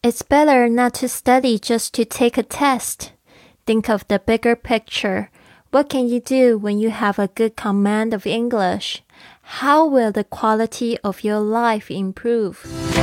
It's better not to study just to take a test. Think of the bigger picture. What can you do when you have a good command of English? How will the quality of your life improve?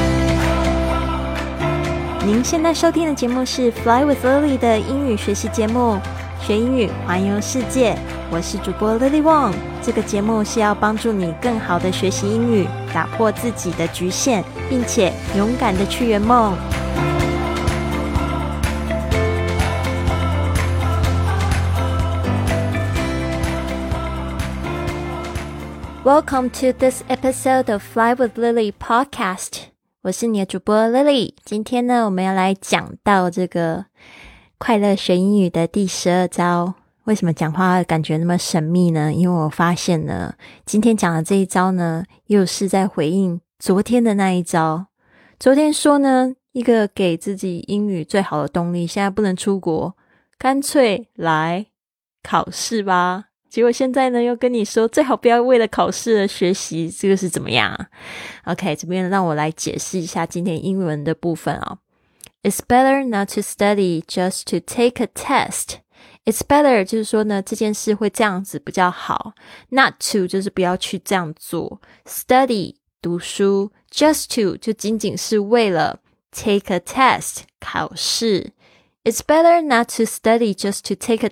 您现在收听的节目是 Fly with Lily 的英语学习节目，学英语环游世界。我是主播 Lily Wong。这个节目是要帮助你更好的学习英语，打破自己的局限，并且勇敢的去圆梦。Welcome to this episode of Fly with Lily podcast. 我是你的主播 Lily。今天呢，我们要来讲到这个快乐学英语的第12招。为什么讲话感觉那么神秘呢？因为我发现呢，今天讲的这一招呢，又是在回应昨天的那一招。昨天说呢，一个给自己英语最好的动力，现在不能出国，干脆来考试吧。结果现在呢，又跟你说最好不要为了考试而学习，这个是怎么样啊？ OK， 这边让我来解释一下今天英文的部分哦。It's better not to study just to take a test. It's better 就是说呢，这件事会这样子比较好。Not to 就是不要去这样做。Study 读书 just to 就仅仅是为了 take a test 考试。It's better not to study just to take a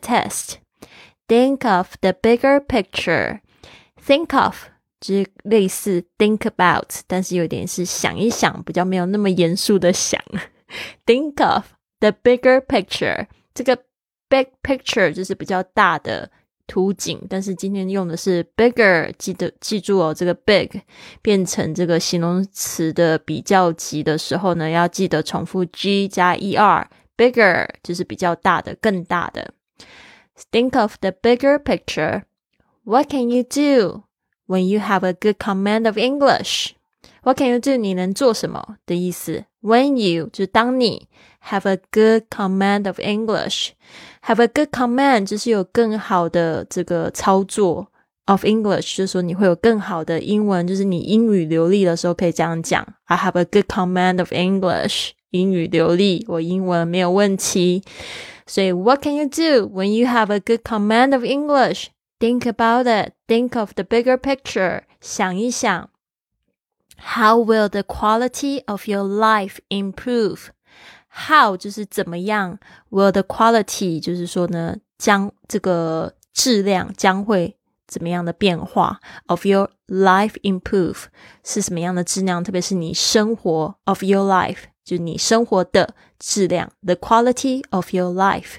test.Think of the bigger picture. Think of 就是类似 think about 但是有点是想一想，比较没有那么严肃的想。Think of the bigger picture. 这个 big picture 就是比较大的图景，但是今天用的是 bigger， 记住哦，这个 big 变成这个形容词的比较级的时候呢，要记得重复 G 加 ER。 Bigger 就是比较大的，更大的。Think of the bigger picture. What can you do when you have a good command of English? What can you do? 你能做什么的意思。When you 就是当你 have a good command of English. Have a good command 就是有更好的这个操作 of English， 就是说你会有更好的英文，就是你英语流利的时候可以这样讲。I have a good command of English. 英语流利，我英文没有问题。所以 what can you do when you have a good command of English? Think about it. Think of the bigger picture. 想一想。How will the quality of your life improve? How 就是怎么样， will the quality 就是说呢，将这个质量将会怎么样的变化 of your life improve 是什么样的质量，特别是你生活 of your life就是你生活的质量 the quality of your life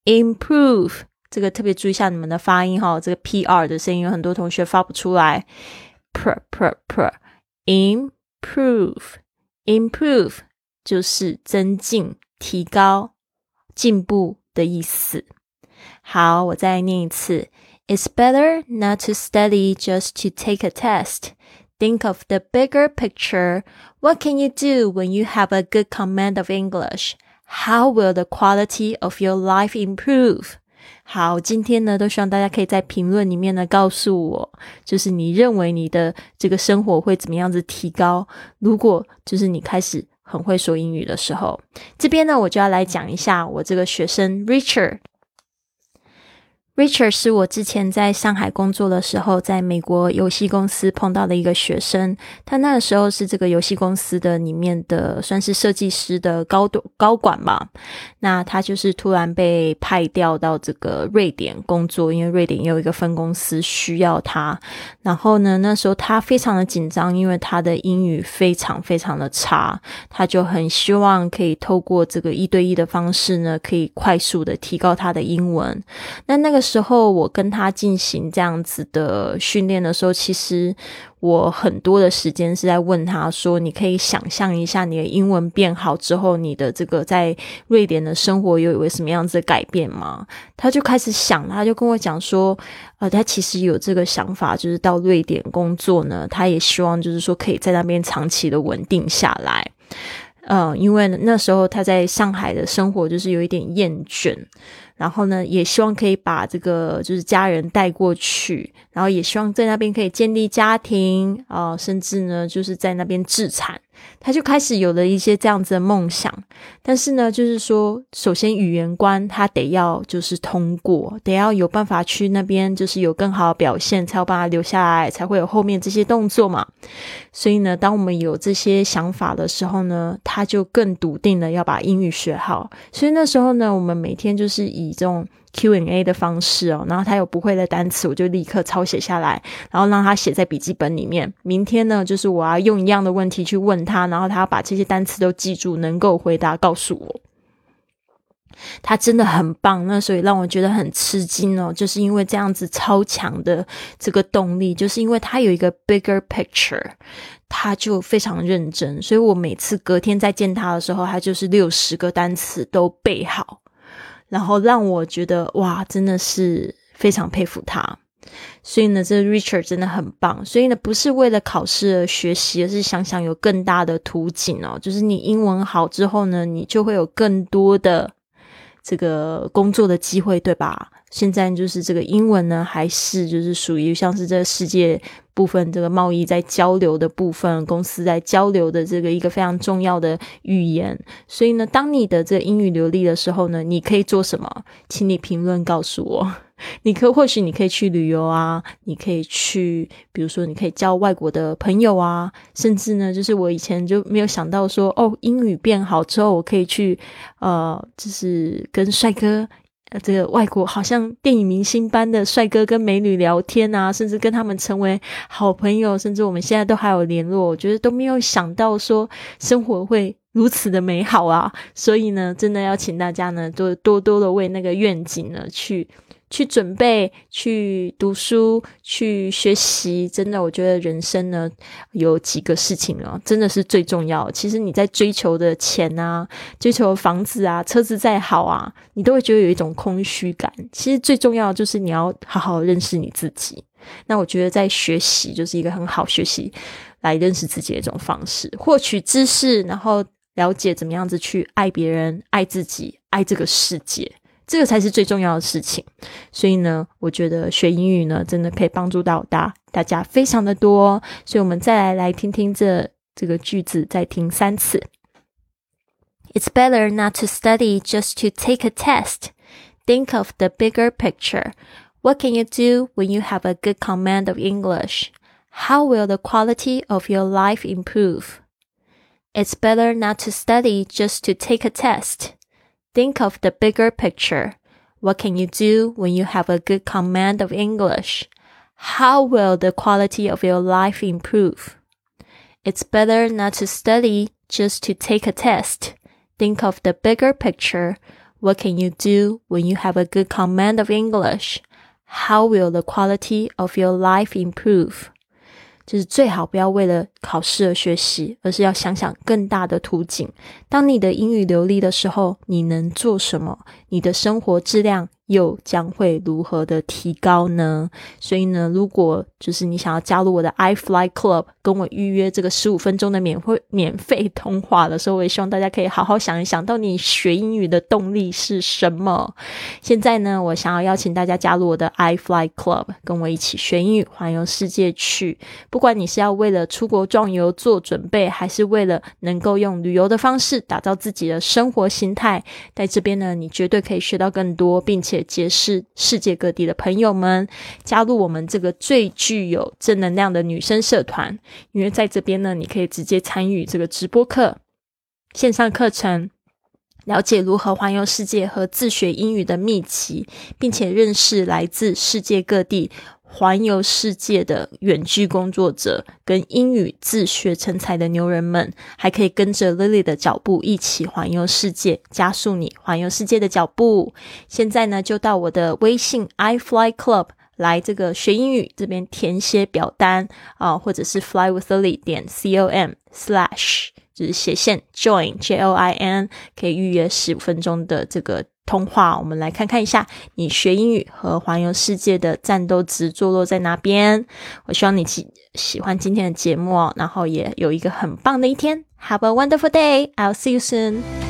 improve 这个特别注意一下你们的发音齁，这个 PR 的声音有很多同学发不出来 improve 就是增进提高进步的意思。好，我再念一次。It's better not to study just to take a test. Think of the bigger picture. What can you do when you have a good command of English? How will the quality of your life improve? 好，今天呢，都希望大家可以在评论里面呢告诉我，就是你认为你的这个生活会怎么样子提高，如果就是你开始很会说英语的时候。这边呢，我就要来讲一下我这个学生 Richard是我之前在上海工作的时候，在美国游戏公司碰到的一个学生。他那个时候是这个游戏公司的里面的算是设计师的高管吧。那他就是突然被派调到这个瑞典工作，因为瑞典有一个分公司需要他。然后呢，那时候他非常的紧张，因为他的英语非常非常的差，他就很希望可以透过这个1对1的方式呢，可以快速的提高他的英文。那个时候我跟他进行这样子的训练的时候，其实我很多的时间是在问他说，你可以想象一下你的英文变好之后，你的这个在瑞典的生活有什么样子的改变吗？他就开始想，他就跟我讲说他其实有这个想法，就是到瑞典工作呢，他也希望就是说可以在那边长期的稳定下来。因为那时候他在上海的生活就是有一点厌倦，然后呢也希望可以把这个就是家人带过去，然后也希望在那边可以建立家庭甚至呢就是在那边置产。 他就开始有了一些这样子的梦想。但是呢，就是说首先语言关他得要就是通过，得要有办法去那边就是有更好的表现，才有办法留下来，才会有后面这些动作嘛。所以呢，当我们有这些想法的时候呢，他就更笃定的要把英语学好。所以那时候呢，我们每天就是以这种Q&A 的方式然后他有不会的单词我就立刻抄写下来，然后让他写在笔记本里面。明天呢，就是我要用一样的问题去问他，然后他要把这些单词都记住，能够回答告诉我。他真的很棒，那所以让我觉得很吃惊就是因为这样子超强的这个动力，就是因为他有一个 bigger picture， 他就非常认真。所以我每次隔天再见他的时候，他就是60个单词都背好，然后让我觉得哇，真的是非常佩服他。所以呢，这 Richard 真的很棒。所以呢，不是为了考试而学习，而是想想有更大的途径就是你英文好之后呢，你就会有更多的这个工作的机会，对吧？现在就是这个英文呢，还是就是属于像是这个世界部分这个贸易在交流的部分，公司在交流的这个一个非常重要的语言。所以呢，当你的这个英语流利的时候呢，你可以做什么？请你评论告诉我。或许你可以去旅游啊，你可以去比如说你可以交外国的朋友啊，甚至呢就是我以前就没有想到说英语变好之后我可以去就是跟帅哥这个外国好像电影明星般的帅哥跟美女聊天啊，甚至跟他们成为好朋友，甚至我们现在都还有联络。我觉得都没有想到说生活会如此的美好啊。所以呢，真的要请大家呢多多的为那个愿景呢去准备，去读书，去学习。真的我觉得人生呢有几个事情真的是最重要。其实你在追求的钱啊，追求的房子啊，车子再好啊，你都会觉得有一种空虚感。其实最重要的就是你要好好认识你自己。那我觉得在学习就是一个很好学习来认识自己的一种方式，获取知识，然后了解怎么样子去爱别人，爱自己，爱这个世界，这个才是最重要的事情。所以呢，我觉得学英语呢真的可以帮助到大家非常的多。所以我们再来听听这个句子，再听3次。 It's better not to study just to take a test. Think of the bigger picture. What can you do when you have a good command of English? How will the quality of your life improve? It's better not to study just to take a test.Think of the bigger picture. What can you do when you have a good command of English? How will the quality of your life improve? It's better not to study just to take a test. Think of the bigger picture. What can you do when you have a good command of English? How will the quality of your life improve?就是最好不要为了考试而学习，而是要想想更大的途径。当你的英语流利的时候，你能做什么？你的生活质量又将会如何的提高呢？所以呢，如果就是你想要加入我的 iFly Club， 跟我预约这个15分钟的免费通话的时候，我也希望大家可以好好想一想，到底学英语的动力是什么。现在呢，我想要邀请大家加入我的 iFly Club， 跟我一起学英语，环游世界去。不管你是要为了出国壮游做准备，还是为了能够用旅游的方式打造自己的生活形态，在这边呢，你绝对可以学到更多，并且结识世界各地的朋友们，加入我们这个最具有正能量的女生社团。因为在这边呢，你可以直接参与这个直播课、线上课程，了解如何环游世界和自学英语的秘籍，并且认识来自世界各地环游世界的远距工作者跟英语自学成才的牛人们，还可以跟着 Lily 的脚步一起环游世界，加速你环游世界的脚步。现在呢，就到我的微信 iFly Club 来这个学英语这边填写表单或者是 flywithlily.com/ 就是斜线 join JOIN， 可以预约15分钟的这个通话。我们来看看一下你学英语和环游世界的战斗值坐落在哪边。我希望你喜欢今天的节目然后也有一个很棒的一天。Have a wonderful day. I'll see you soon.